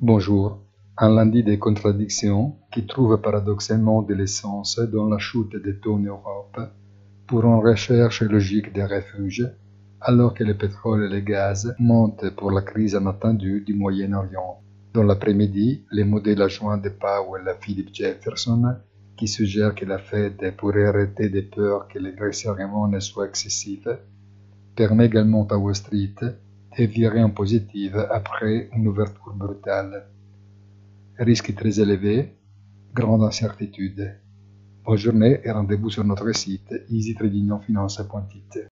Bonjour, un lundi des contradictions qui trouve paradoxalement de l'essence dans la chute des taux en Europe pour une recherche logique des refuges, alors que le pétrole et le gaz montent pour la crise inattendue du Moyen-Orient. Dans l'après-midi, les modèles adjoints de Powell à Philip Jefferson, qui suggèrent que la Fed pourrait arrêter de peur que les resserrements ne soient excessifs, permet également à Wall Street de virer en positive après une ouverture brutale. Risque très élevé, grande incertitude. Bonne journée et rendez-vous sur notre site easytradingfinance.it.